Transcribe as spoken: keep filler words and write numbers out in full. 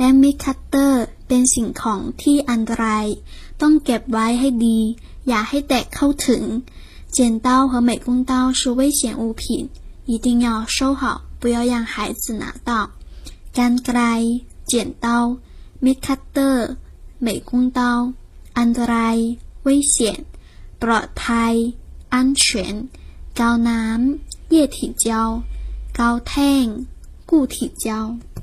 และมิดคัตเตอร์เป็นสิ่งของที่อันตรายต้องเก็บไว้ให้ดีอย่าให้แตะเข้าถึง剪刀和美工刀是危险物品一定要收好不要让孩子拿到กรรไกร剪刀มิดคัตเตอร์美工刀อันตราย危险ปลอดภัย安全กาวน้ำ液体胶กาวแท่ง固体胶